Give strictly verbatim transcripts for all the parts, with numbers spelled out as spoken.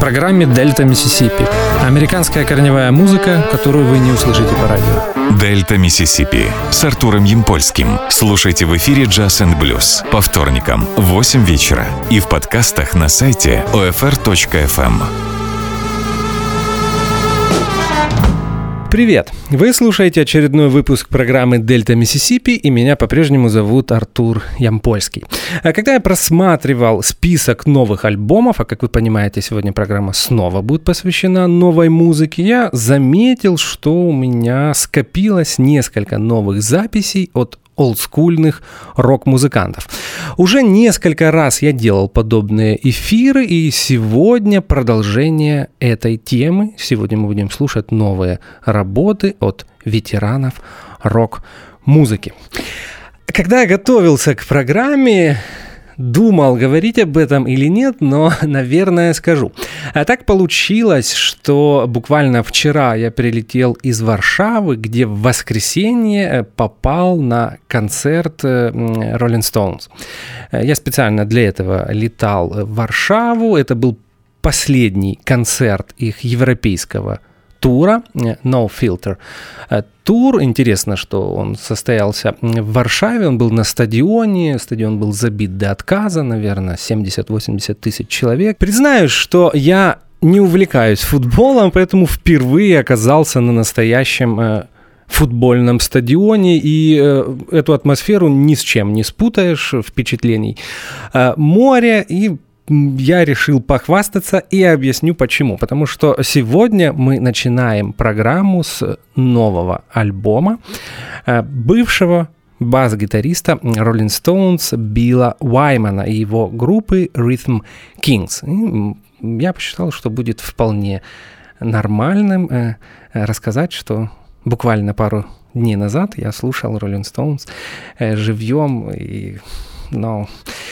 программе «Дельта Миссисипи». Американская корневая музыка, которую вы не услышите по радио. «Дельта Миссисипи» с Артуром Ямпольским. Слушайте в эфире «Джаз энд Блюз» по вторникам в восемь вечера и в подкастах на сайте о эф эр точка эф эм. Привет! Вы слушаете очередной выпуск программы «Дельта Миссисипи», и меня по-прежнему зовут Артур Ямпольский. А когда я просматривал список новых альбомов, а как вы понимаете, сегодня программа снова будет посвящена новой музыке, я заметил, что у меня скопилось несколько новых записей от олдскульных рок-музыкантов. Уже несколько раз я делал подобные эфиры, и сегодня продолжение этой темы. Сегодня мы будем слушать новые работы от ветеранов рок-музыки. Когда я готовился к программе, думал, говорить об этом или нет, но, наверное, скажу. А так получилось, что буквально вчера я прилетел из Варшавы, где в воскресенье попал на концерт Rolling Stones. Я специально для этого летал в Варшаву. Это был последний концерт их европейского тура No Filter. Тур, интересно, что он состоялся в Варшаве, он был на стадионе, стадион был забит до отказа, наверное, семьдесят-восемьдесят тысяч человек. Признаюсь, что я не увлекаюсь футболом, поэтому впервые оказался на настоящем э, футбольном стадионе, и э, эту атмосферу ни с чем не спутаешь, впечатлений. Э, море и я решил похвастаться и объясню почему. Потому что сегодня мы начинаем программу с нового альбома бывшего бас-гитариста Rolling Stones Билла Уаймана и его группы Rhythm Kings. И я посчитал, что будет вполне нормальным рассказать, что буквально пару дней назад я слушал Rolling Stones живьем, и, ну...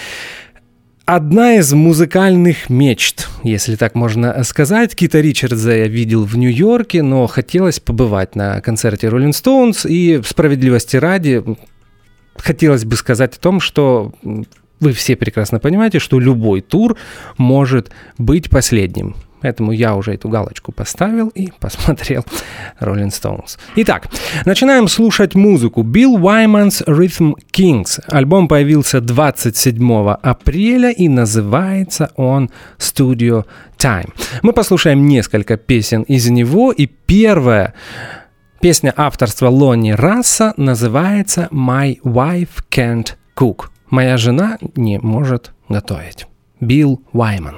Одна из музыкальных мечт, если так можно сказать. Кита Ричардса я видел в Нью-Йорке, но хотелось побывать на концерте Rolling Stones. И справедливости ради, хотелось бы сказать о том, что вы все прекрасно понимаете, что любой тур может быть последним. Поэтому я уже эту галочку поставил и посмотрел Rolling Stones. Итак, начинаем слушать музыку. Bill Wyman's Rhythm Kings. Альбом появился двадцать седьмого апреля и называется он Studio Time. Мы послушаем несколько песен из него, и первая песня авторства Лонни Расса называется My Wife Can't Cook. Моя жена не может готовить. Билл Уайман.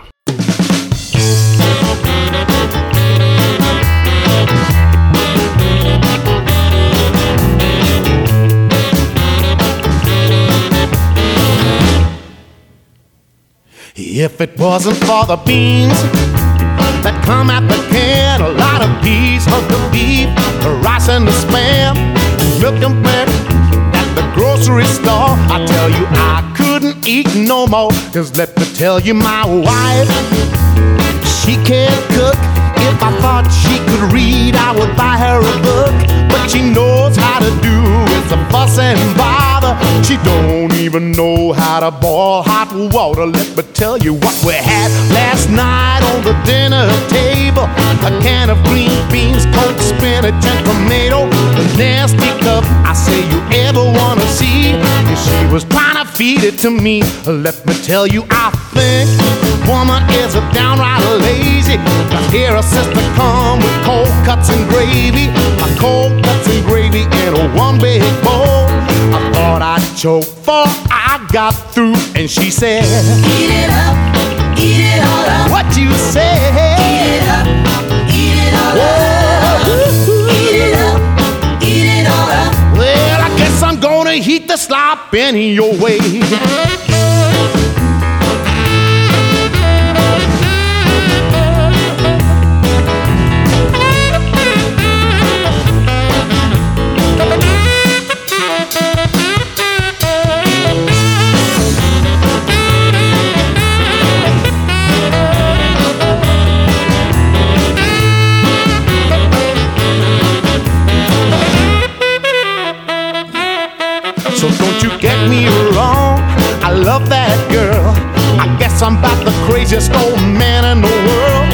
If it wasn't for the beans that come at the can, a lot of peas, hunk of beef, the rice and the spam, milk and bread at the grocery store, I tell you I couldn't eat no more. Cause let me tell you, my wife, she can't cook. If I thought she could read, I would buy her a book. But she knows how to do is a fuss and bother. She don't even know how to boil hot water. Let me tell you what we had last night on the dinner table. A can of green beans, cold spinach and tomato. The nasty cup I say you ever wanna see. If she was trying to feed it to me, let me tell you, I think woman is a downright lazy. I hear her sister come with cold cuts and gravy. My cold cuts and gravy in a one big bowl. I thought I'd choke before I got through, and she said, eat it up, eat it all up. What you say? Eat it up, eat it all up. Eat it up, eat it all up. Well, I guess I'm gonna heat the slop in your way. So don't you get me wrong, I love that girl. I guess I'm about the craziest old man in the world.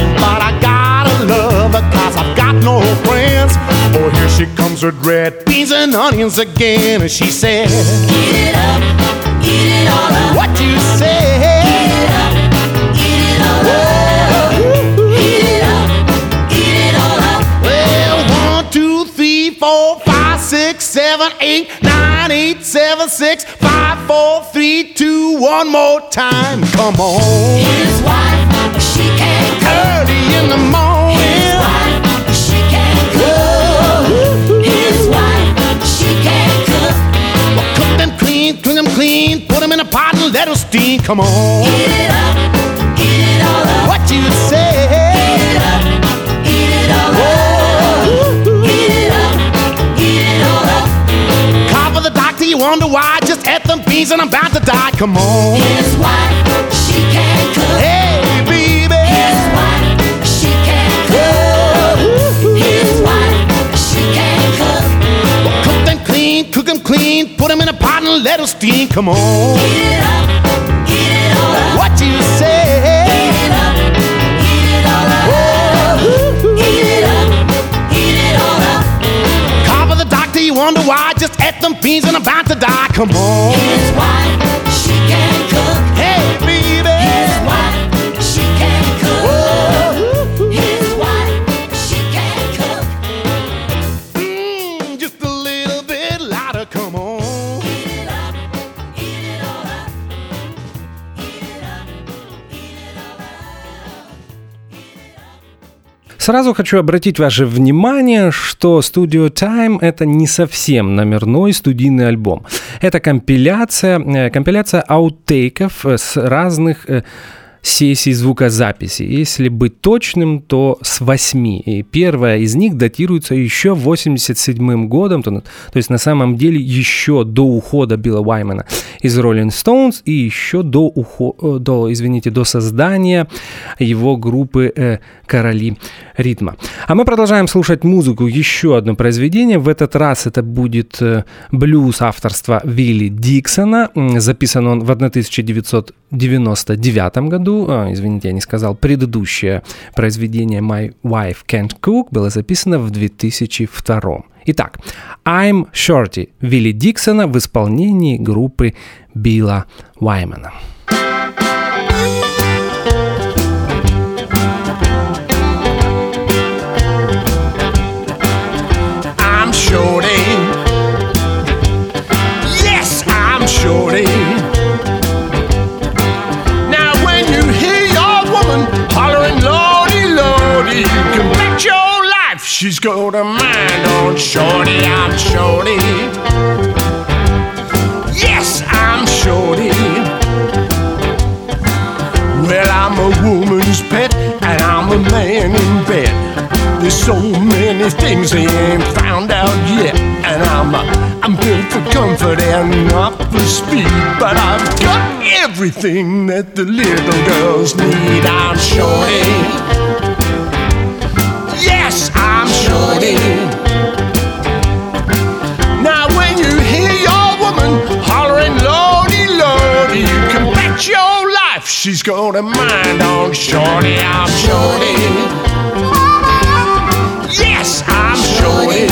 but I gotta love her 'cause I've got no friends. Oh, here she comes with red beans and onions again, and she said, Eat it up, eat it all up. what you say? Eat it up, eat it all up. Eat it up, eat it all up. Well, one, two, three, four, five, six, seven, eight, nine, eight, seven, six, five, four, three, two, one more time. Come on. His wife, she can't cook. Early in the morning. His wife, she can't cook. His wife, she can't cook. Well, cook them clean, clean them clean, put them in a pot and let them steam. Come on. Eat it up, eat it all up. What you say? Eat it up, eat it all up. Eat it up, eat it all up. Call for the doctor, you wonder why? Just ate them beans and I'm about to die. Come on. His wife, she can't cook. Hey, baby. His wife, she can't cook. His wife, she can't cook. Well, cook them clean, cook them clean, put them in a pot and let them steam. Come on. Eat it up, eat it all up. What you say? Eat it up, eat it all up. Eat it up, eat it all up. Call for the doctor, you wonder why? Just ate them beans and I'm about to die. Come on. His wife, she can't cook. Hey, baby. His wife, she can't cook. His wife, she can't cook. Mm, just a little bit louder. Come on. Eat it up, eat it all up. Eat it up, eat it all up. Сразу хочу обратить ваше внимание, что Studio Time — это не совсем номерной студийный альбом. Это компиляция, компиляция аутейков с разных сессий звукозаписи. Если быть точным, то с восьми. И первая из них датируется еще восемьдесят седьмым годом, то, то есть на самом деле еще до ухода Билла Уаймана из Rolling Stones и еще до, ухо, до, извините, до создания его группы э, «Короли ритма». А мы продолжаем слушать музыку, еще одно произведение. В этот раз это будет э, блюз авторства Вилли Диксона. Записан он в тысяча девятьсот девяносто девятом году. А, извините, я не сказал. Предыдущее произведение «My Wife Can't Cook» было записано в две тысячи втором. Итак, «I'm Shorty» Вилли Диксона в исполнении группы Билла Уаймана. I'm Shorty. Yes, I'm Shorty. Now when you hear your woman hollering Lordy, Lordy, you can bet your life she's got a mind on Shorty. I'm Shorty. Yes, I'm Shorty. Well, I'm a woman's pet and I'm a man in bed. There's so many things they ain't found out yet. And I'm uh, I'm built for comfort and not for speed. But I've got everything that the little girls need. I'm Shorty. Yes, I'm Shorty. Now when you hear your woman hollering Lordy, Lordy, you can bet your life she's got a mind on Shorty. I'm Shorty. Yes, I'm Shorty.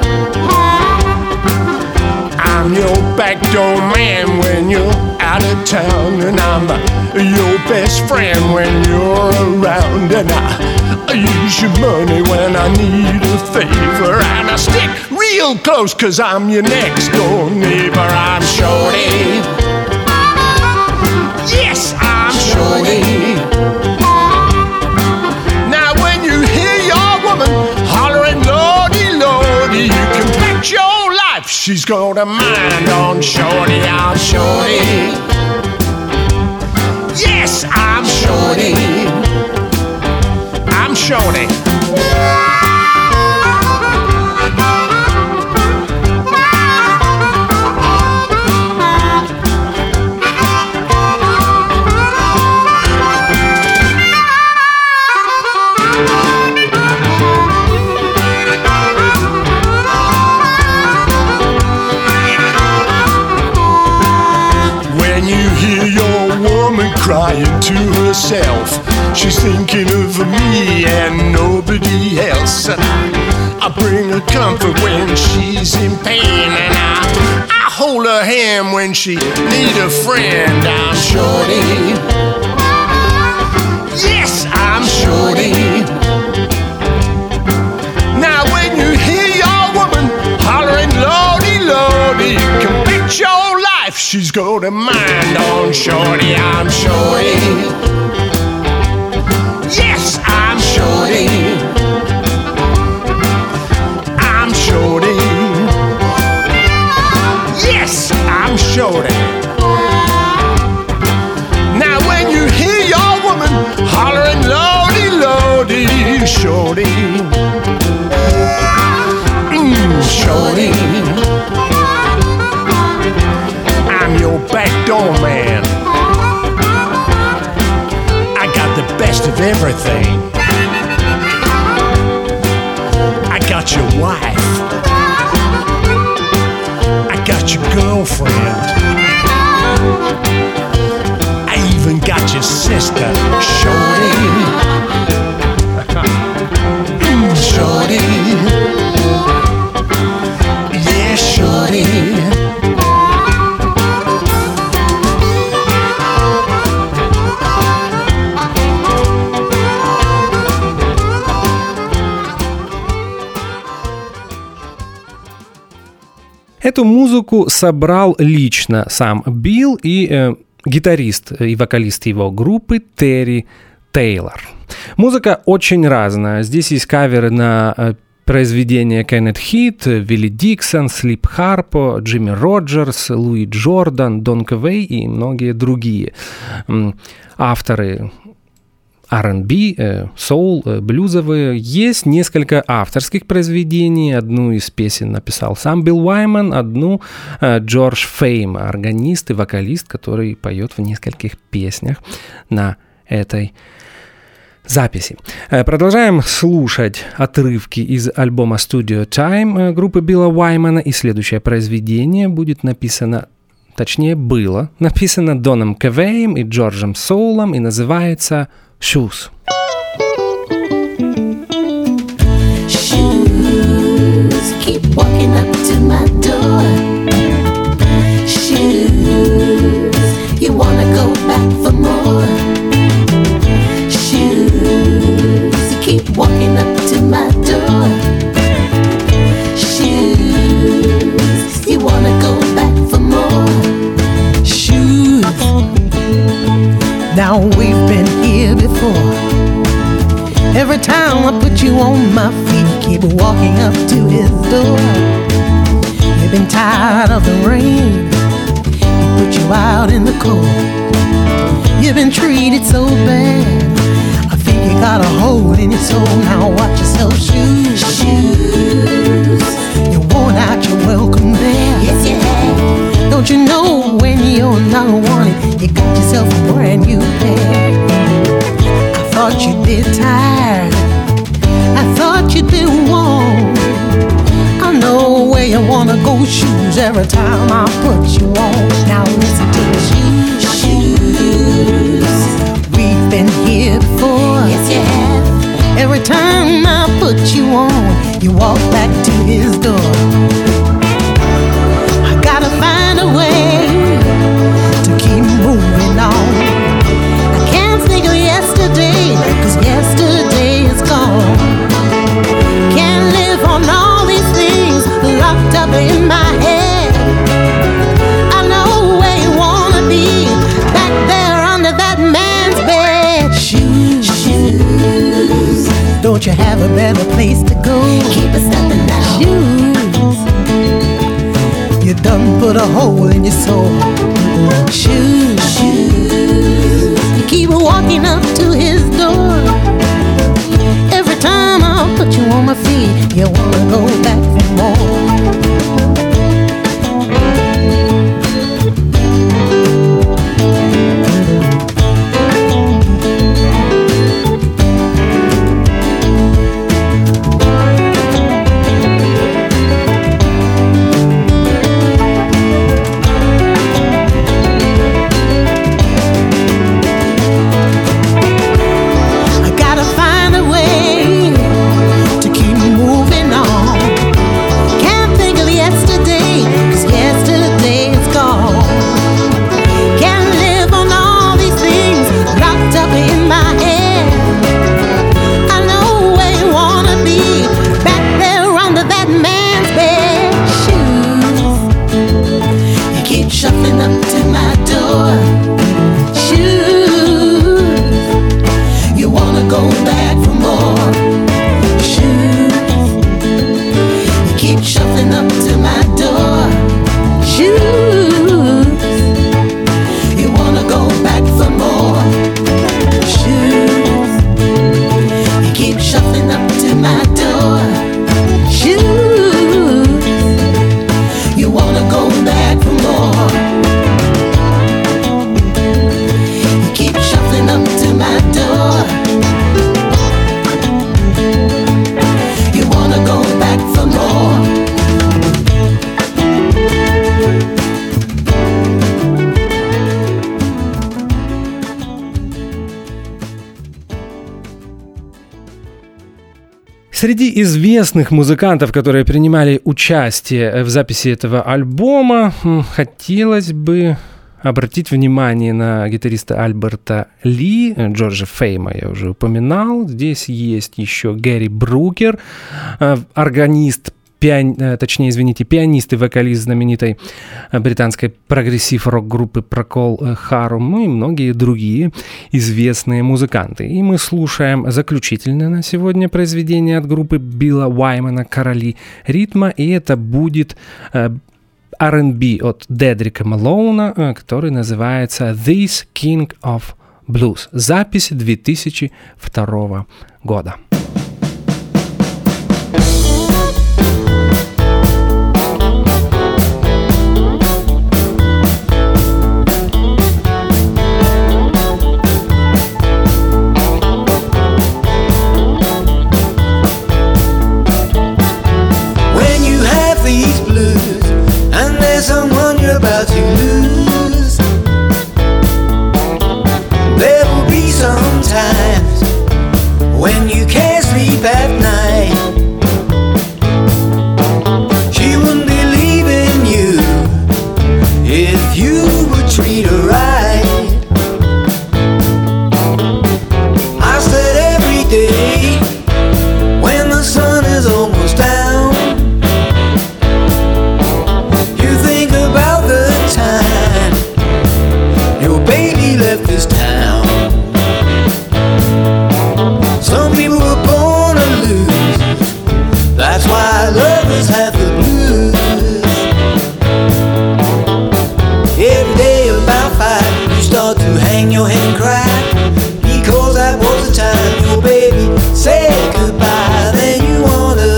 I'm your backdoor man when you're out of town, and I'm uh, your best friend when you're around. And I, I use your money when I need a favor, and I stick real close 'cause I'm your next door neighbor. I'm Shorty. Yes, I'm Shorty. Now when you hear your woman hollering Lordy, Lordy, you can bet your life she's got a mind on Shorty. I'm Shorty. Yes, I'm Shorty. I'm Shorty. crying to herself. She's thinking of me and I, I bring her comfort when she's in pain, and I, I hold her hand when she need a friend. I'm Shorty. Yes, I'm Shorty. Now when you hear your woman hollering Lordy, Lordy, you can bet your life she's got a mind on Shorty. I'm Shorty. Yes, I'm Shorty. I'm Shorty. Yes, I'm Shorty. Now when you hear your woman hollering Lordy, Lordy, Shorty. Mm, Shorty. I'm your backdoor man. I got the best of everything. I got your wife. I got your girlfriend. I even got your sister, Shorty. Mm, Shorty. Yeah, Shorty. Эту музыку собрал лично сам Билл и э, гитарист и вокалист его группы Терри Тейлор. Музыка очень разная. Здесь есть каверы на э, произведения Кеннет Хит, Вилли Диксон, Слип Харпо, Джимми Роджерс, Луи Джордан, Дон Квей и многие другие м, авторы ар энд би, соул, блюзовые. Есть несколько авторских произведений. Одну из песен написал сам Билл Уайман, одну Джордж Фейм, органист и вокалист, который поет в нескольких песнях на этой записи. Продолжаем слушать отрывки из альбома Studio Time группы Билла Уаймана, и следующее произведение будет написано, точнее было написано Доном Квеем и Джорджем Соулом и называется Shoes. Shoes keep walking up to my door. Shoes, you wanna go back for more. Shoes, you keep walking up to my door. Shoes, you wanna go back for more. Shoes, now we've been here before. Every time I put you on my feet, you keep walking up to his door. You've been tired of the rain, he put you out in the cold. You've been treated so bad, I think you got a hole in your soul. Now watch yourself, shoes. Shoes, You worn out your welcome there. yes you have. Don't you know when you're not wanted, you got yourself a brand new pair. I thought you'd be tired, I thought you'd be warm. I know where you wanna go, shoes, every time I put you on. Now listen to the shoes. Shoes, We've been here before. yes you have. Every time I put you on, you walk back to his door. I gotta find a way to keep moving on. I can't think of yesterday, 'cause yesterday is gone. Can't live on all these things locked up in my head. I know where you wanna be, back there under that man's bed. Shoes, Shoes, don't you have a better place to go? keep us stepping now. Shoes, you done put a hole in your soul. Shoes, Shoes, you keep walking up to his door. Every time I put you on my feet, you wanna go back for more. Среди известных музыкантов, которые принимали участие в записи этого альбома, хотелось бы обратить внимание на гитариста Альберта Ли, Джорджа Фейма я уже упоминал. Здесь есть еще Гэри Брукер, органист, пиан... точнее, извините, пианист и вокалист знаменитой британской прогрессив-рок-группы Procol Harum, ну и многие другие известные музыканты. И мы слушаем заключительное на сегодня произведение от группы Билла Уаймана «Короли ритма», и это будет ар энд би от Дедрика Малоуна, который называется «This King of Blues». Запись две тысячи второго года. Someone you're about to lose. There will be some times when you can't sleep at night. She wouldn't be leaving you if you would treat her right. I said every day when the sun is almost down, left this town. Some people were born to lose. That's why lovers have the blues. Every day about five, you start to hang your head and cry, because that was the time your baby said goodbye. Then you wanna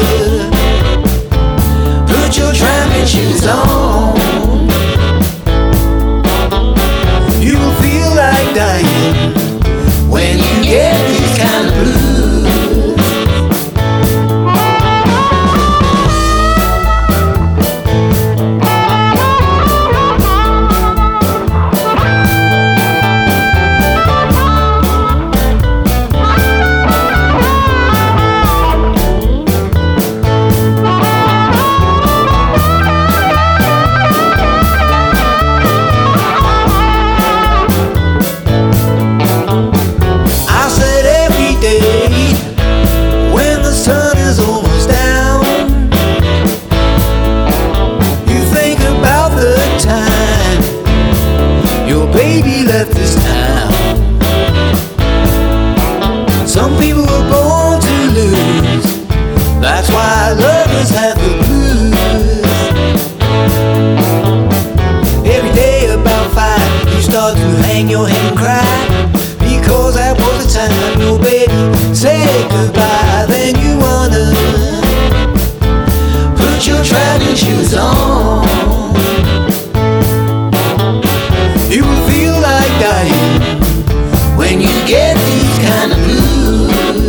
put your traveling shoes on. Like dying when you get these kind of blues. Baby left this town. Some people were born to lose. That's why lovers have the blues. Every day about five, you start to hang your head and cry, because that was the time your baby said goodbye. Then you wanna put your traveling shoes on. You will feel like dying when you get these kind of blues.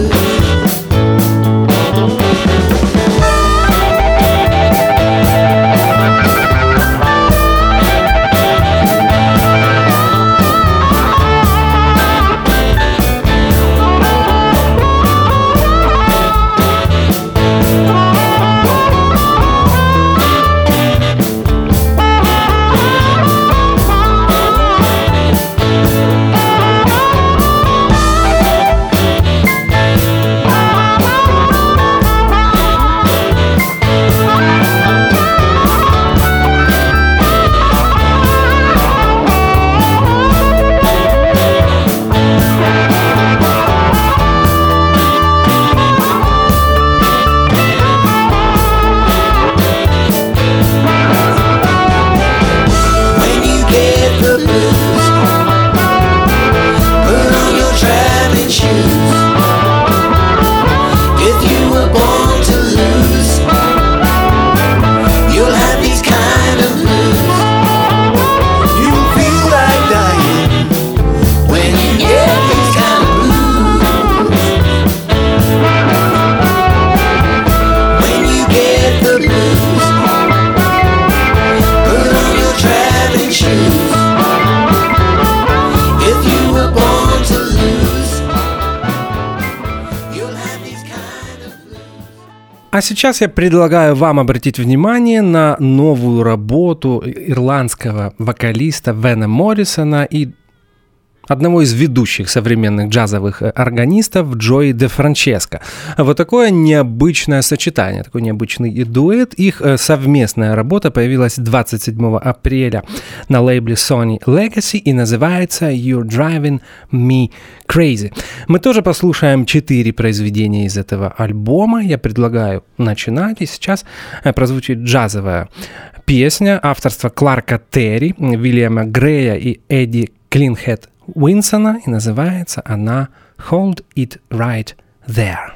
А сейчас я предлагаю вам обратить внимание на новую работу ирландского вокалиста Вена Моррисона и одного из ведущих современных джазовых органистов Джои Де Франческо. Вот такое необычное сочетание, такой необычный дуэт. Их совместная работа появилась двадцать седьмого апреля на лейбле Sony Legacy и называется You're Driving Me Crazy. Мы тоже послушаем четыре произведения из этого альбома. Я предлагаю начинать, и сейчас прозвучит джазовая песня авторства Кларка Терри, Уильяма Грея и Эдди Клинхед Уинсона, и называется она «Hold It Right There».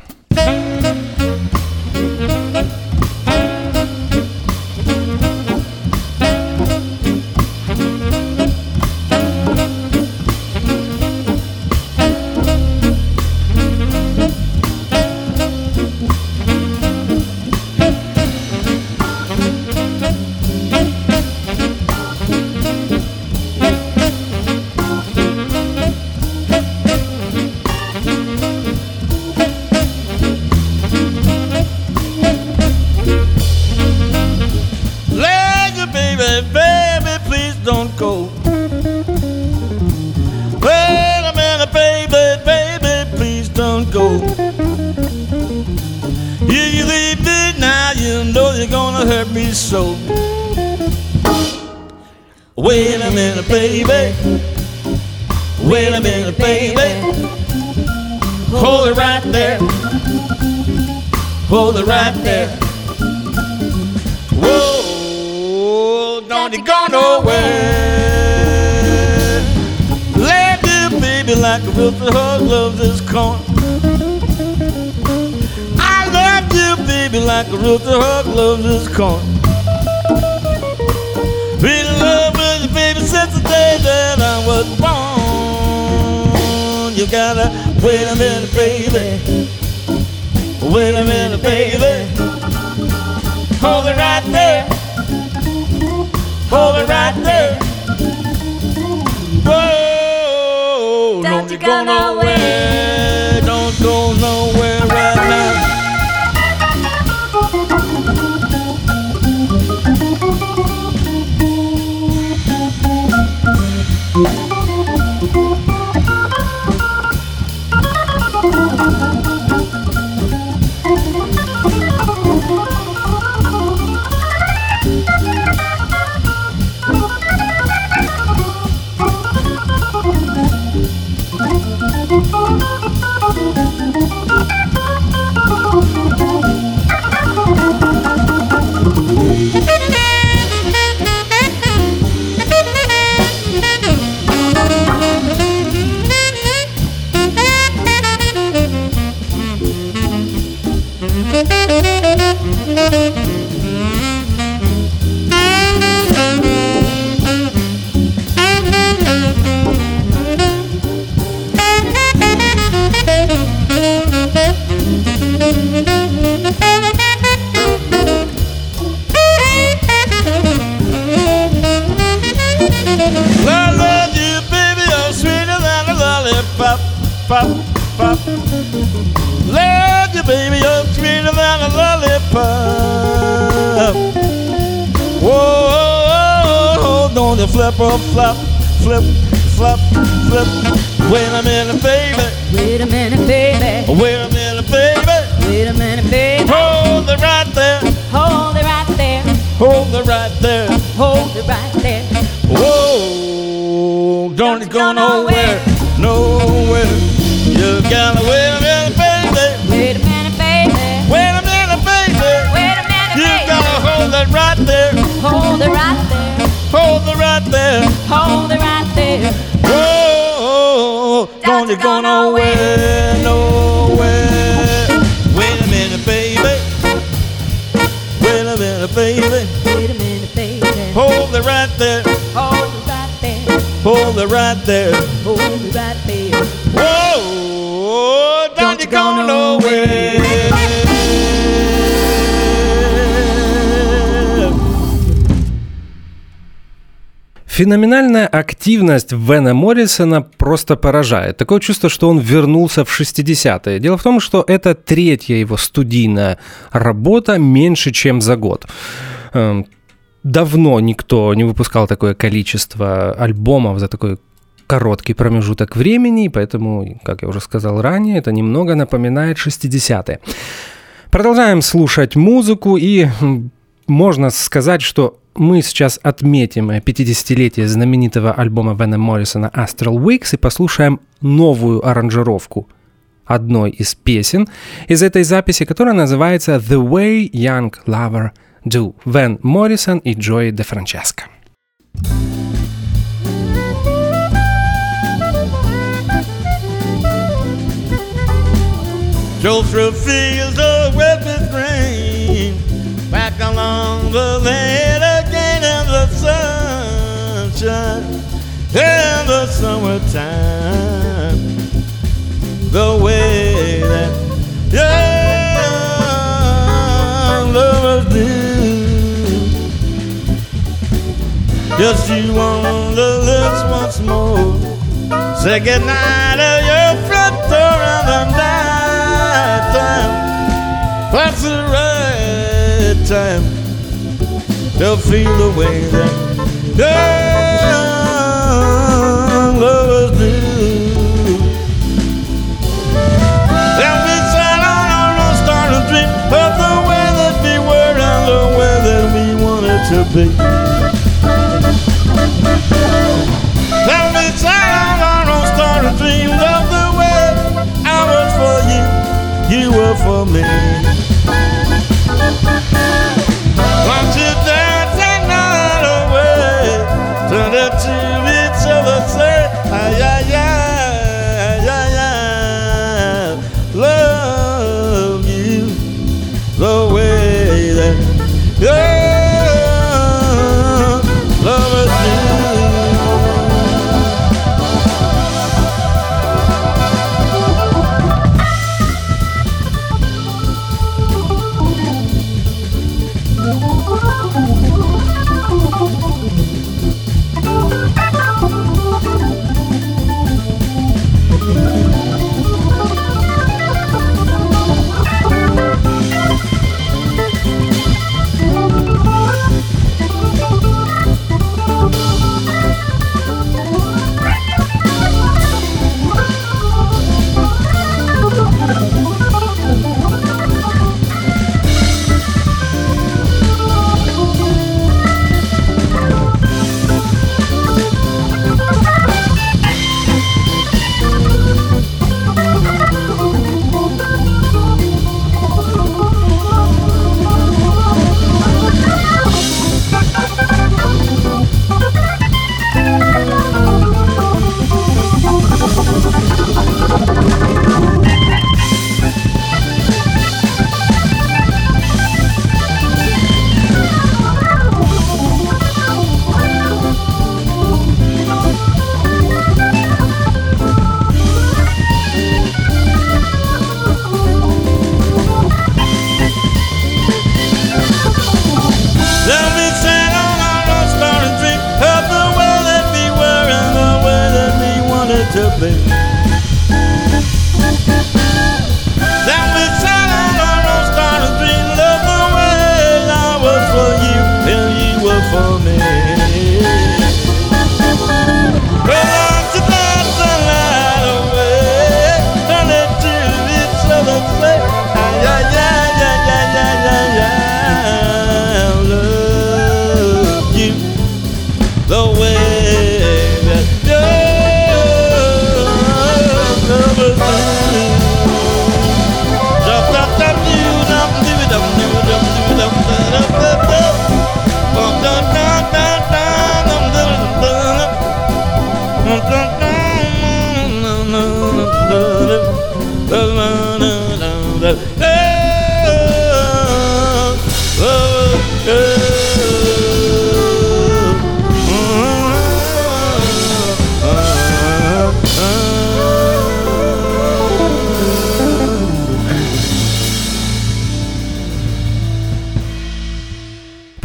So wait a minute, baby. Wait a minute, baby. Hold it right there. Hold it right there. Whoa, don't you go nowhere. Let you, baby, like a rooster hug loves his corn. I love you, baby, like a rooster hug loves his corn. Been in love with you, baby, since the day that I was born. You gotta wait a minute, baby. Wait a minute, baby. Hold it right there. Hold it right there. Whoa, don't you go nowhere. Don't go nowhere right now. Pop, pop. Love you, baby, you're sweeter than a lollipop. Whoa, don't you flip or flop, flip, flop, flip. Wait a minute, baby. Wait a minute, baby. Wait a minute, baby. Wait a minute, baby. Hold it right there. Hold it right there. Hold it right there. Hold it right there. Whoa, don't you go nowhere, nowhere. You gotta wait a minute, baby. Wait a minute, baby. Wait a minute, baby. Wait a minute, You baby. gotta hold it right there. Hold it right there. Hold it right there. Hold it right there. Whoa, don't you go nowhere, nowhere. Wait a minute, baby. Wait a minute, baby. Wait a minute, baby. Hold it right there. Hold it right there. Hold it right there. Hold it right there. Whoa, don't you go nowhere. Феноменальная активность Вена Моррисона просто поражает. Такое чувство, что он вернулся в шестидесятые. Дело в том, что это третья его студийная работа меньше, чем за год. Давно никто не выпускал такое количество альбомов за такой короткий промежуток времени, поэтому, как я уже сказал ранее, это немного напоминает шестидесятые. Продолжаем слушать музыку, и можно сказать, что мы сейчас отметим пятидесятилетие знаменитого альбома Вена Моррисона «Astral Weeks» и послушаем новую аранжировку одной из песен из этой записи, которая называется «The Way Young Lover Do». Вен Моррисон и Джои Де Франческо. Drove through fields of wet with rain, back along the lane again in the sunshine, in the summertime. The way that young lovers do. Just you on the lips once more, say goodnight at your front door in the night time. That's the right time to feel the way that young lovers do. And we sat on our starting dream of the way that we were and the way that we wanted to be. And we sat on our starting dream of the way I was for you, you were for me. Won't you dance that night away, turn it to each other, say, ay, ay, ay, ay, ay, love you the way that young lovers do.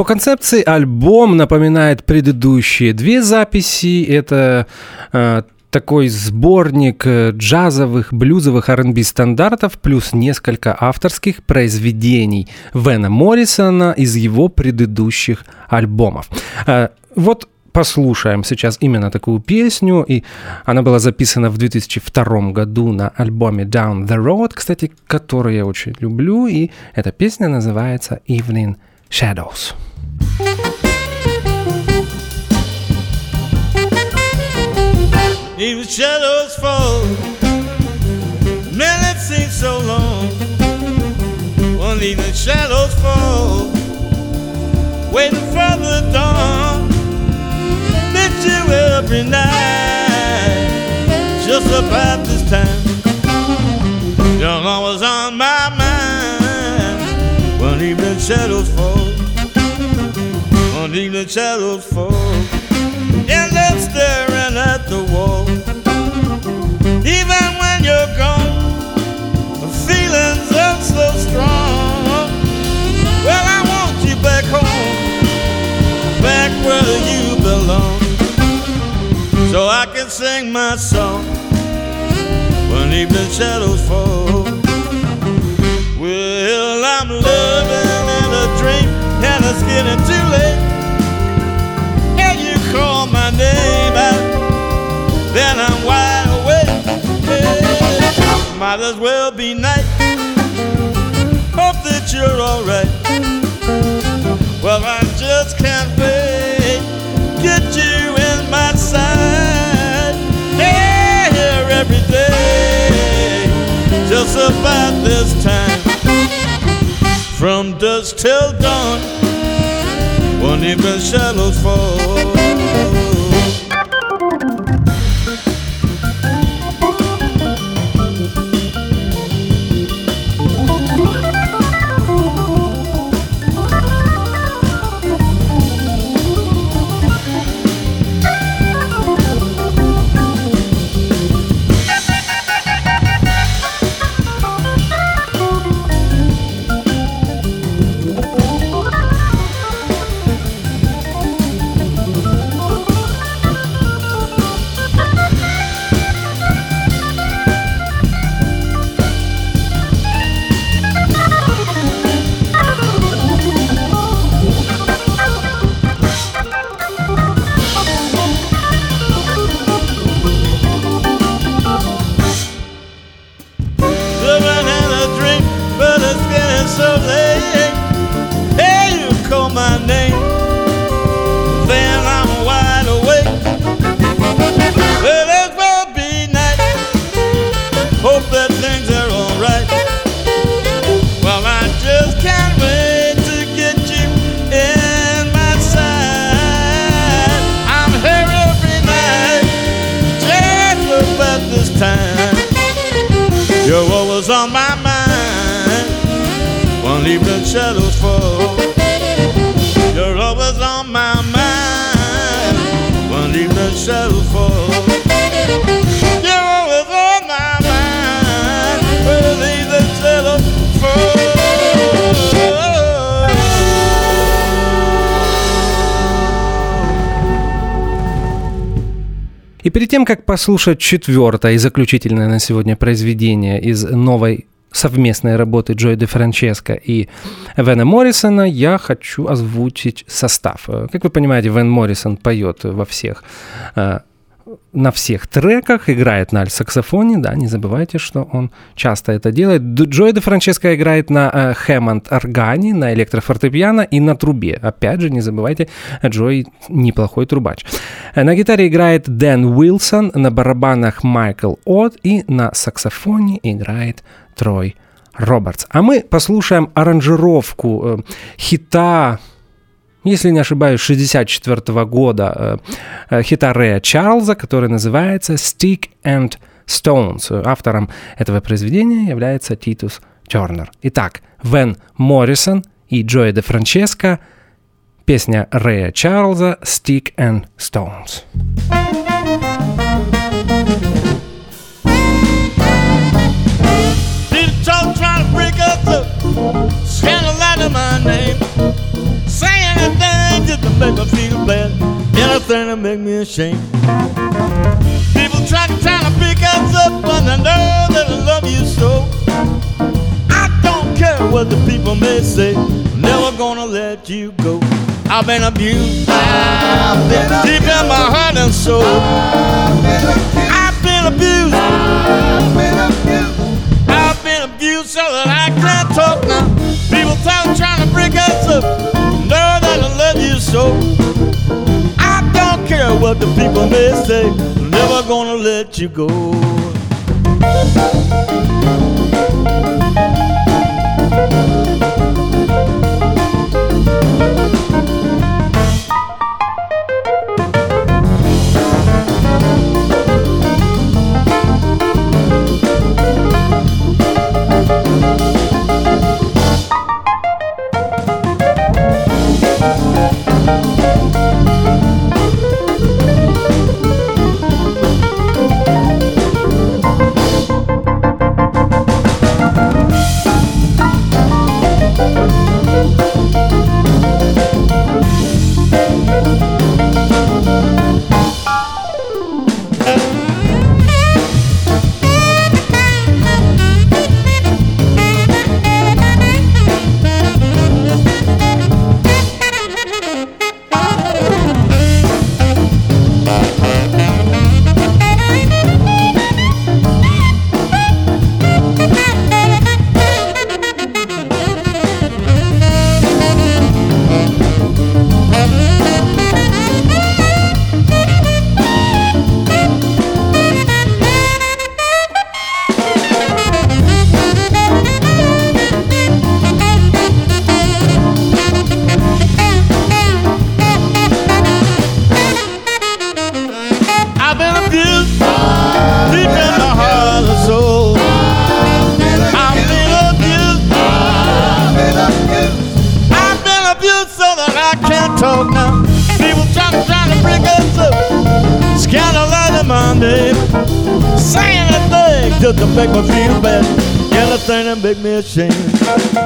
По концепции альбом напоминает предыдущие две записи. Это э, такой сборник джазовых, блюзовых ар энд би стандартов плюс несколько авторских произведений Вена Моррисона из его предыдущих альбомов. Э, вот послушаем сейчас именно такую песню, и она была записана в две тысячи втором году на альбоме Down the Road, кстати, который я очень люблю, и эта песня называется Evening Shadows. Even shadows fall, man, it seems so long. One evening shadows fall, waiting for the dawn. Miss you every night, just about this time. You're always on my mind. One evening shadows fall, one evening shadows fall, and I'm staring at the wall. Even when you're gone, the feelings are so strong. Well, I want you back home, back where you belong, so I can sing my song when evening shadows fall. Well, I'm living in a dream and it's getting too late, and you call my name out, then I'm wide awake. Hey, might as well be night. Hope that you're alright. Well, I just can't wait, get you in my sight. Hey, here every day, just about this time, from dusk till dawn, one evening shadows fall. On my mind, one evening shadows fall. You're always on my mind, one evening shadows fall. You're always on my mind, one evening shadows fall. И перед тем, как послушать четвертое и заключительное на сегодня произведение из новой совместной работы Джои Дефранческо и Вена Моррисона, я хочу озвучить состав. Как вы понимаете, Вен Моррисон поет во всех, на всех треках, играет на альт-саксофоне, да, не забывайте, что он часто это делает. Джои Дефранческо играет на хэммонд-органе, на электрофортепиано и на трубе. Опять же, не забывайте, Джои неплохой трубач. На гитаре играет Дэн Уилсон, на барабанах Майкл Отт и на саксофоне играет Трой Робертс. А мы послушаем аранжировку э, хита, если не ошибаюсь, шестьдесят четвёртого года, э, э, хита Рэя Чарльза, который называется «Stick and Stones». Автором этого произведения является Титус Тернер. Итак, Вен Моррисон и Джои Дефранческо, песня Рэя Чарльза «Stick and Stones». Trying to break up the scandal out of my name, saying that make me feel bad. Anything to make me ashamed. People try to try to pick us up, but I know that I love you so. I don't care what the people may say. Never gonna let you go. I've been abused. I've been deep abused. In my heart and soul. I've been abused. I've been abused. I've been abused so that I can't talk now. People talk trying to break us up. Know that I love you so. I don't care what the people may say. Never gonna let you go. Just to make me feel bad. Anything to make me ashamed.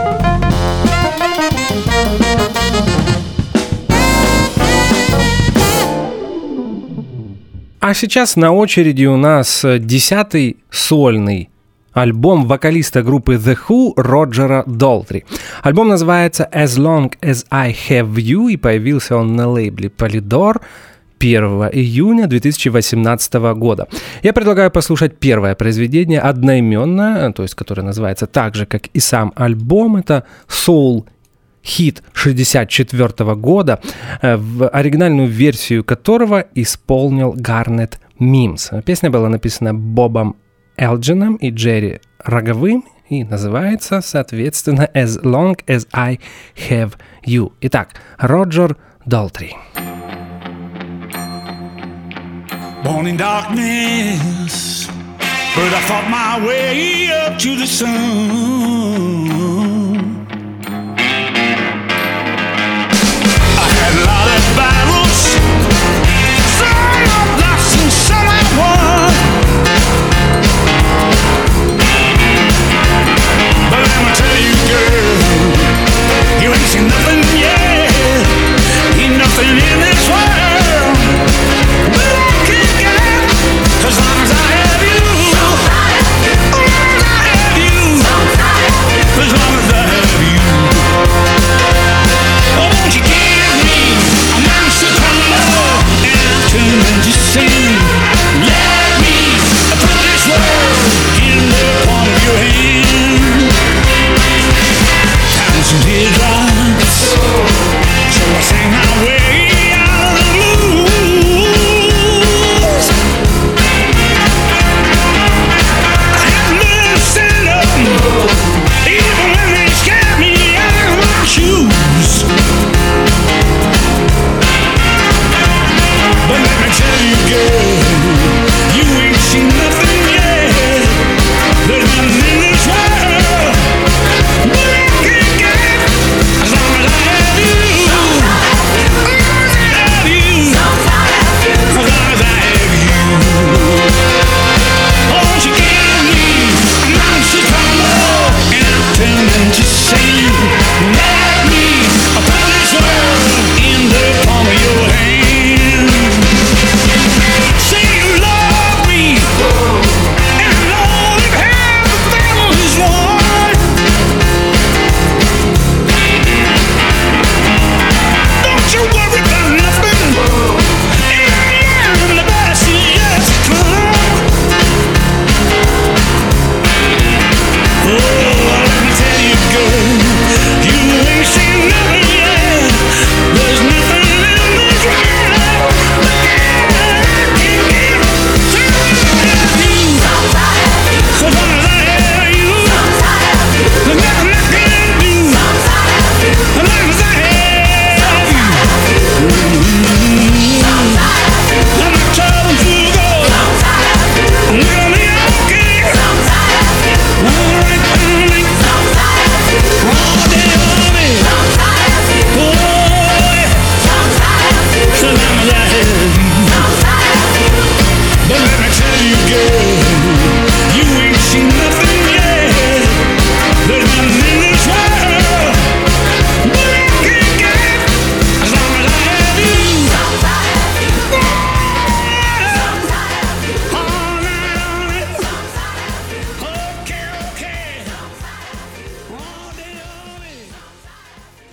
А сейчас на очереди у нас десятый сольный альбом вокалиста группы The Who Роджера Долтри. Альбом называется As Long As I Have You и появился он на лейбле Polydor первого июня две тысячи восемнадцатого года. Я предлагаю послушать первое произведение, одноименное, то есть которое называется так же, как и сам альбом. Это соул-хит шестьдесят четвёртого года, в оригинальную версию которого исполнил Гарнет Мимс. Песня была написана Бобом Элджином и Джерри Роговым и называется, соответственно, As Long As I Have You. Итак, Роджер Долтри. Born in darkness, but I fought my way up to the sun. I had a lot of battles, some I lost and some I won. But let me tell you, girl, you ain't seen nothing yet, ain't nothing in this world. As long as I have you, as long as I have you, as long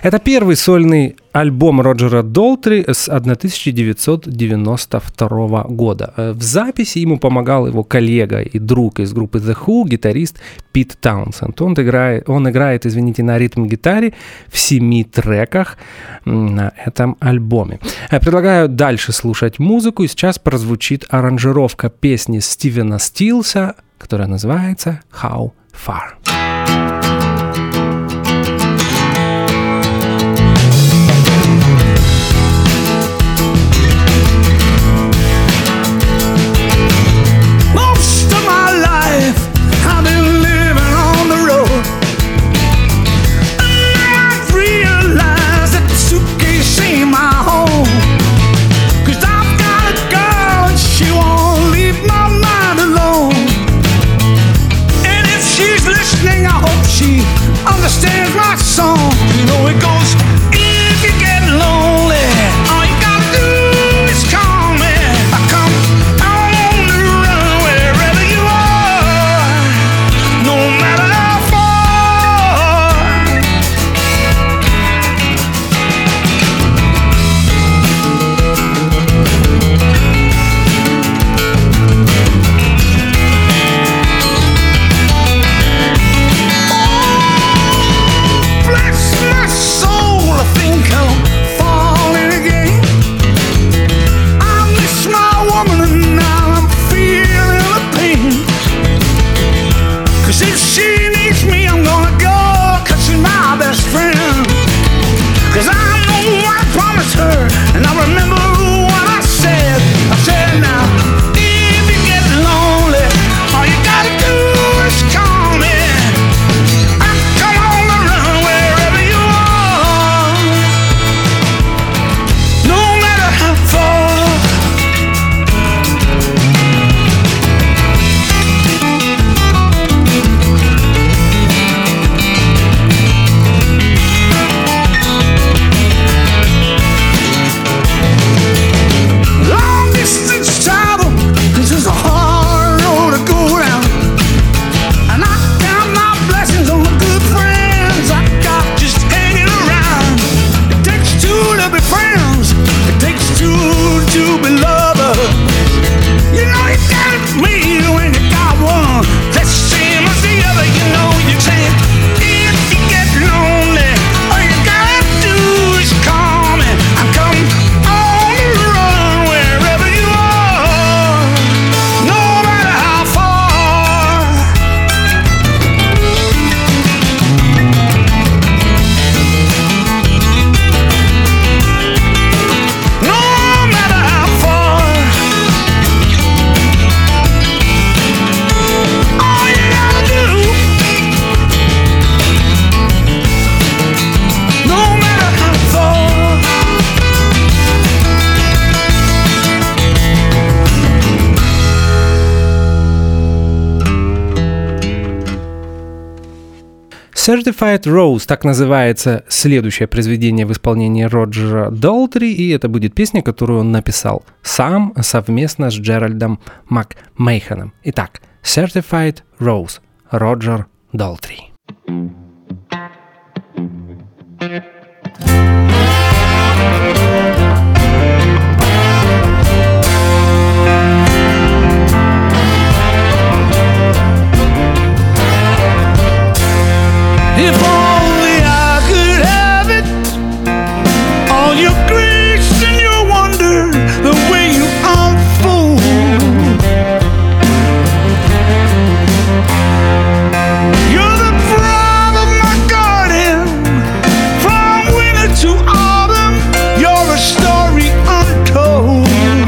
Это первый сольный альбом Роджера Долтри с тысяча девятьсот девяносто второго года. В записи ему помогал его коллега и друг из группы The Who, гитарист Пит Таунсенд. Он играет, он играет, извините, на ритм-гитаре в семи треках на этом альбоме. Предлагаю дальше слушать музыку, и сейчас прозвучит аранжировка песни Стивена Стилса, которая называется «How Far». Understands my song. You know it goes, if you get lonely, all you gotta do is call me. I come on the run wherever you are, no matter how far. Certified Rose, так называется следующее произведение в исполнении Роджера Долтри, и это будет песня, которую он написал сам совместно с Джеральдом МакМейханом. Итак, Certified Rose, Роджер Долтри. If only I could have it, all your grace and your wonder, the way you unfold. You're the pride of my garden, from winter to autumn, you're a story untold.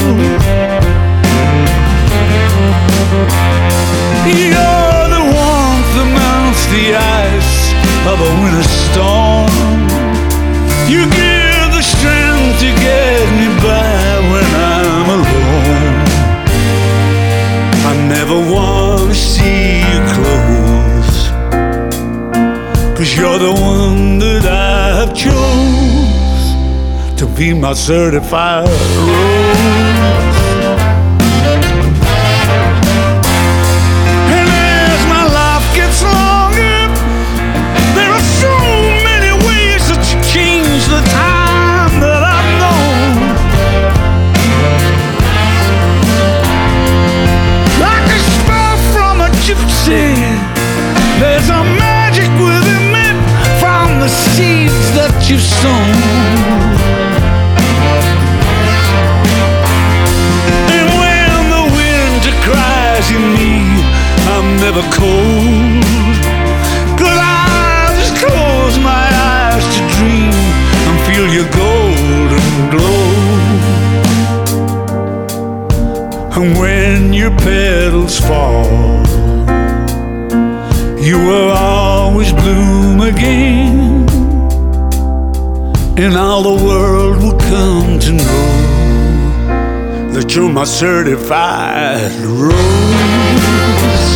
You're the warmth that melts the ice of a winter storm. You give the strength to get me by when I'm alone. I never want to see you close, 'cause you're the one that I have chose to be my certified rose. Change always bloom again, and all the world will come to know that you're my certified rose.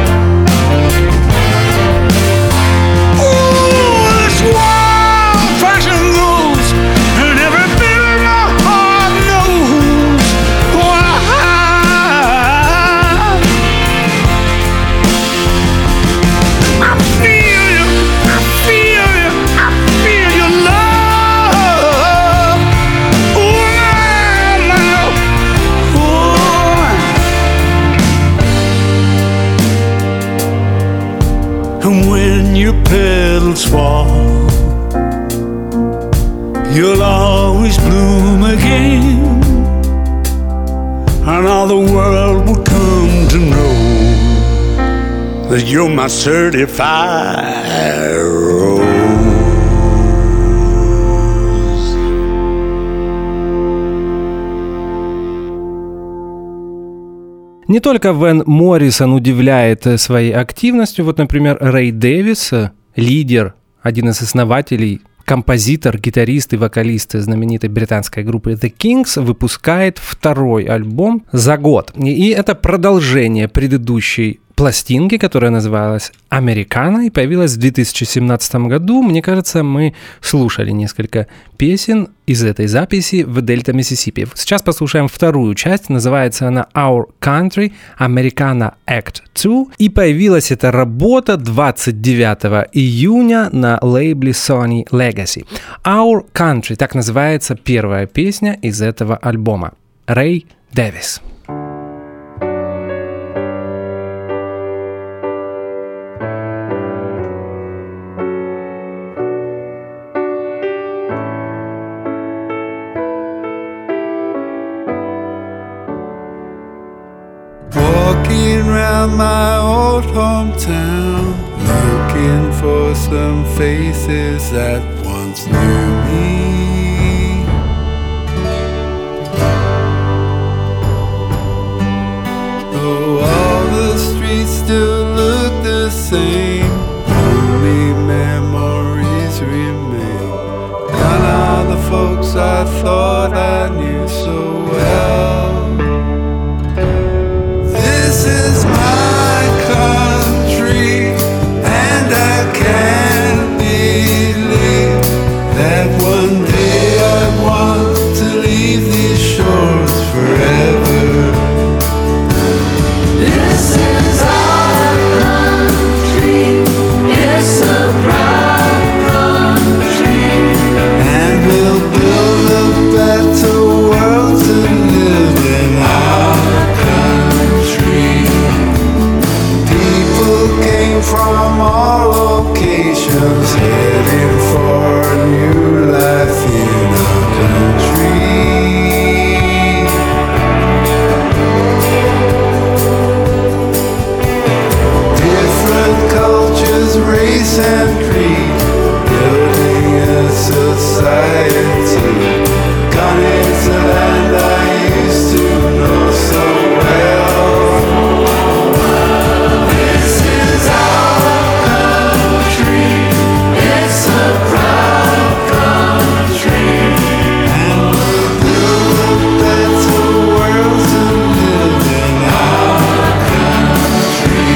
Ooh, this wild passion goes, and every bit of my heart knows why. I feel you, I feel you, I feel your love. Ooh, my, my, ooh. And when your petals fall, you'll always bloom again, and all the world will come to know that you're my certified rose. Не только Вэн Моррисон удивляет своей активностью. Вот, например, Рэй Дэвис, лидер, один из основателей, композитор, гитарист и вокалист знаменитой британской группы The Kings, выпускает второй альбом за год. И это продолжение предыдущей пластинки, которая называлась «Американа» и появилась в две тысячи семнадцатом году. Мне кажется, мы слушали несколько песен из этой записи в Дельта Миссисипи. Сейчас послушаем вторую часть, называется она «Our Country Americana Act два», и появилась эта работа двадцать девятого июня на лейбле Sony Legacy. «Our Country» — так называется первая песня из этого альбома. Рэй Дэвис. Walking round my old hometown, looking for some faces that once knew me. Though all the streets still look the same, only memories remain. Gone are the folks I thought I knew so well. This is my country, and I can't believe that one day I want to leave these shores forever. This is our country, it's a proud country, And we'll build a better world to live in our country. People came from all locations, heading for a new life in our country. Different cultures, race and creed, building a society. Gone is the land I used to know so well. this is our country, it's a proud country. And we'll build a better world to live in our country.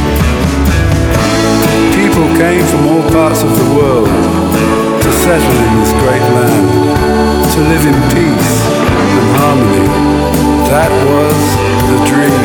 People came from all parts of the world to settle in this great land, to live in peace and harmony. That was the dream.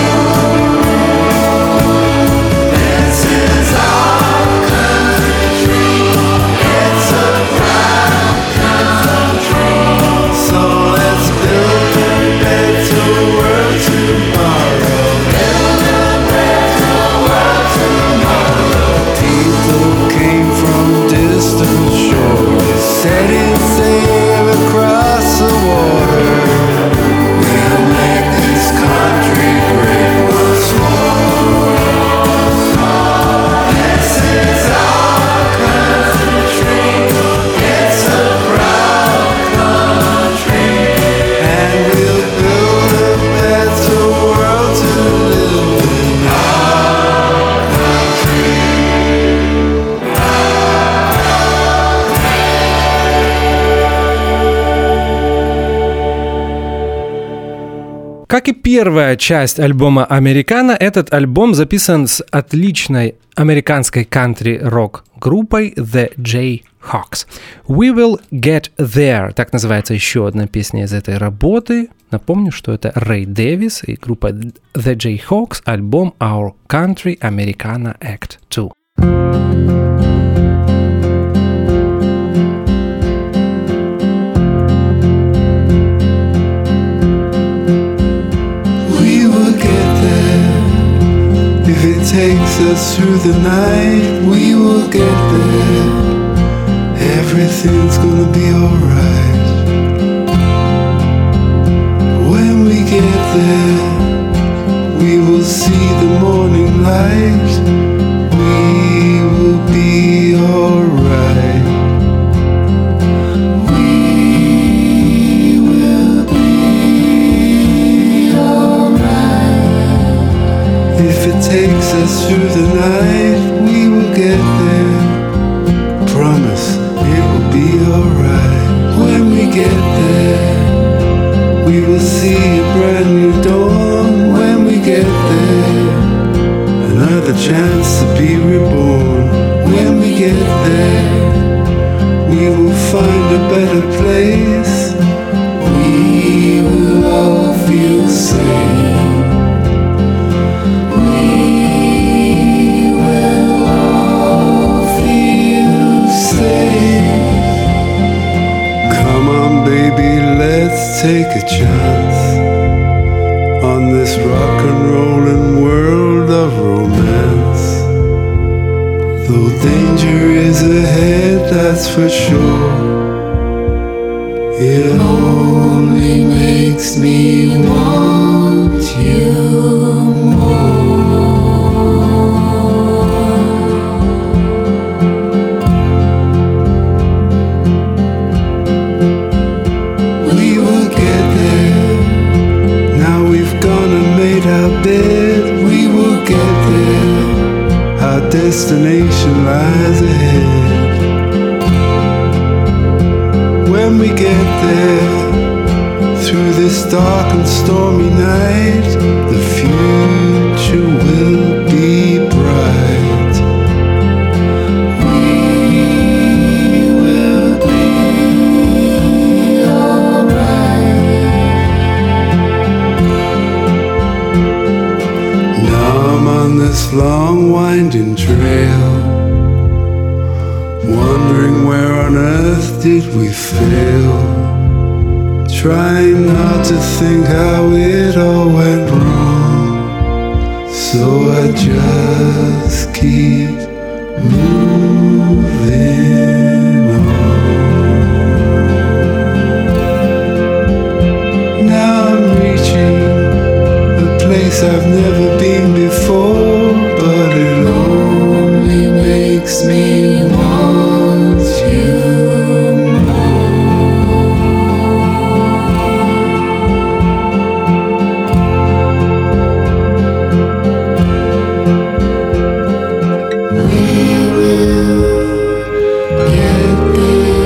This is our country, it's a proud country. So let's build a better world tomorrow. Build a better world tomorrow. People came from distant shores, setting sail across the water. We'll make this country great once more. This is our country, it's a proud country. And we'll build a better world to live in our country. как и первая часть альбома «Американо», этот альбом записан с отличной американской кантри-рок группой The Jayhawks. We Will Get There, так называется еще одна песня из этой работы. Напомню, что это Рэй Дэвис и группа The Jayhawks, альбом Our Country Americana Act two. If it takes us through the night, we will get there. Everything's gonna be alright. When we get there, we will see the morning light. We will be alright. We will be alright. If it takes us through the night, we will get there. Promise, it will be alright. When we get there, we will see a brand new dawn. When we get there, another chance to be reborn. When we get there, we will find a better place. We will all feel safe. Baby, let's take a chance on this rock and rollin' world of romance. Though danger is ahead, that's for sure, it only makes me want you more. Our bed, we will get there. Our destination lies ahead. When we get there, through this dark and stormy night, the future will be bright. We will be alright. On this long winding trail, wondering where on earth did we fail, trying not to think how it all went wrong, so I just keep moving on. Now I'm reaching a place I've never been before, but it only makes me want you more. We will get there.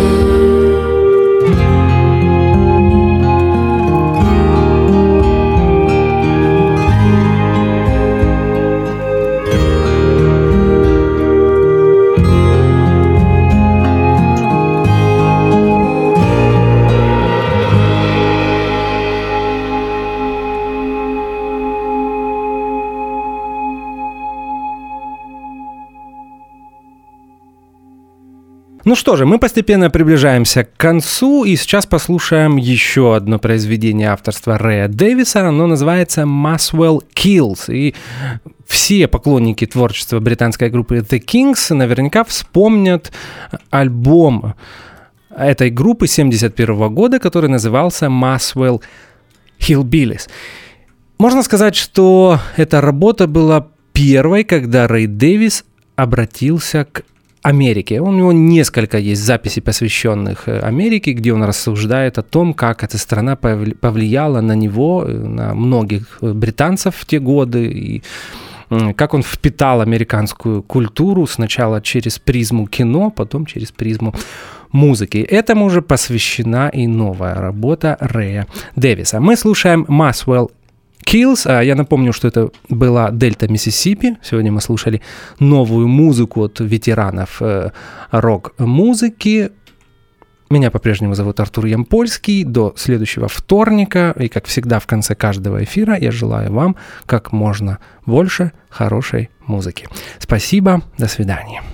Ну что же, мы постепенно приближаемся к концу, и сейчас послушаем еще одно произведение авторства Рэя Дэвиса. Оно называется «Muswell Kills». И все поклонники творчества британской группы The Kings наверняка вспомнят альбом этой группы семьдесят первого года, который назывался «Muswell Hillbillies». Можно сказать, что эта работа была первой, когда Рэй Дэвис обратился к Америке. У него несколько есть записей, посвященных Америке, где он рассуждает о том, как эта страна повлияла на него, на многих британцев в те годы, и как он впитал американскую культуру сначала через призму кино, потом через призму музыки. Этому же посвящена и новая работа Рэя Дэвиса. Мы слушаем Muswell Kills. А я напомню, что это была Дельта Миссисипи. Сегодня мы слушали новую музыку от ветеранов э, рок-музыки. Меня по-прежнему зовут Артур Ямпольский. До следующего вторника. И, как всегда, в конце каждого эфира я желаю вам как можно больше хорошей музыки. Спасибо. До свидания.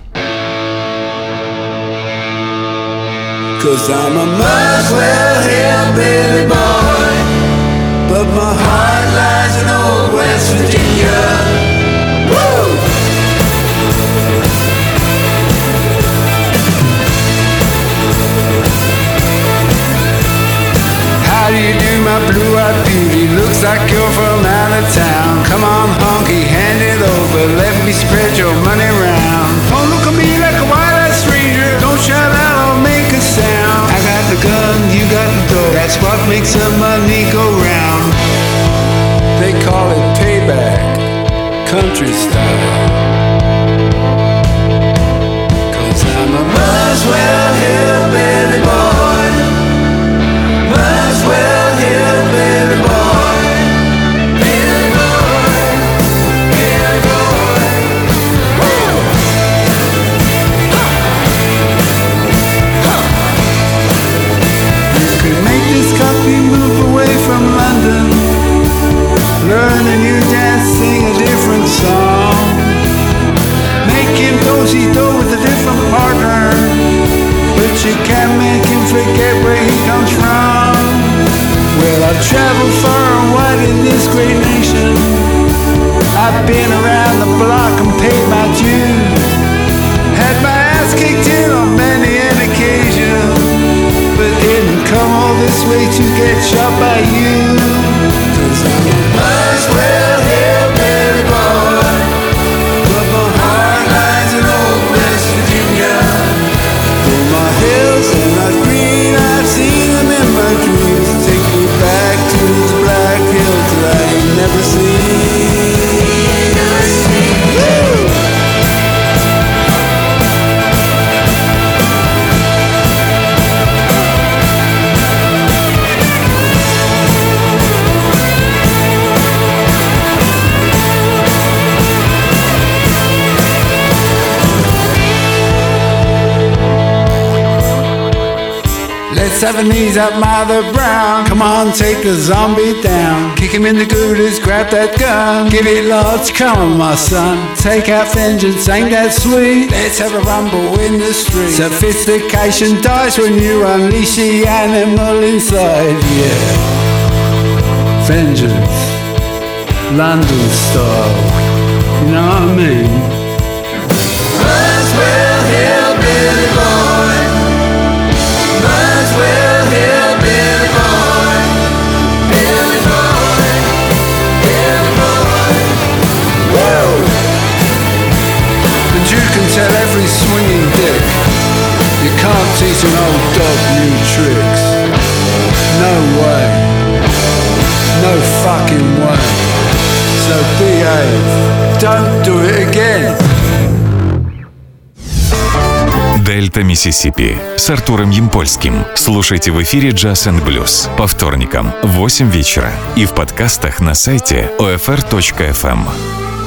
Cause I'm a Muswell hillbilly boy, but my heart lies in old West Virginia. Woo! How do you do, my blue-eyed beauty? Looks like you're from out of town. Come on, honky, hand it over. Let me spread your money round. Don't look at me like a white-eyed stranger. Don't shout out or make a sound. I got the gun, you got the dough. That's what makes the money go round. They call it payback, country style. Cause I'm a Muswell hillbilly boy, Muswell hillbilly boy, Billy boy, Billy boy. Woo! You can make this country move away from London, learn a new dance, sing a different song, make him do-si-do with a different partner, but you can't make him forget where he comes from. Well, I've traveled far and wide in this great nation. I've been around the block and paid my dues, had my ass kicked in on many an occasion, but didn't come all this way to get shot by you. Cause I'm a Muswell hillbilly boy, but my heart lies in old West Virginia. Though my hills are not green, I've seen them in my dreams. Take me back to those black hills that I ain't never seen. Woo! Let's have a knees up, Mother Brown. Come on, take a zombie down. Kick him in the goodies, grab that gun. Give it lots, come on, my son. Take out vengeance, ain't that sweet? Let's have a rumble in the street. Sophistication dies when you unleash the animal inside, yeah. Vengeance, London style, you know what I mean? Muswell hillbilly boy, Muswell hillbilly boy, Billy boy, Billy boy. Woo! And you can tell every swinging dick you can't teach an old dog new tricks. No way, no fucking way. So behave, don't do it again. Дельта Миссисипи с Артуром Ямпольским. Слушайте в эфире Jazz энд Blues по вторникам в восемь вечера и в подкастах на сайте о эф эр точка эф эм.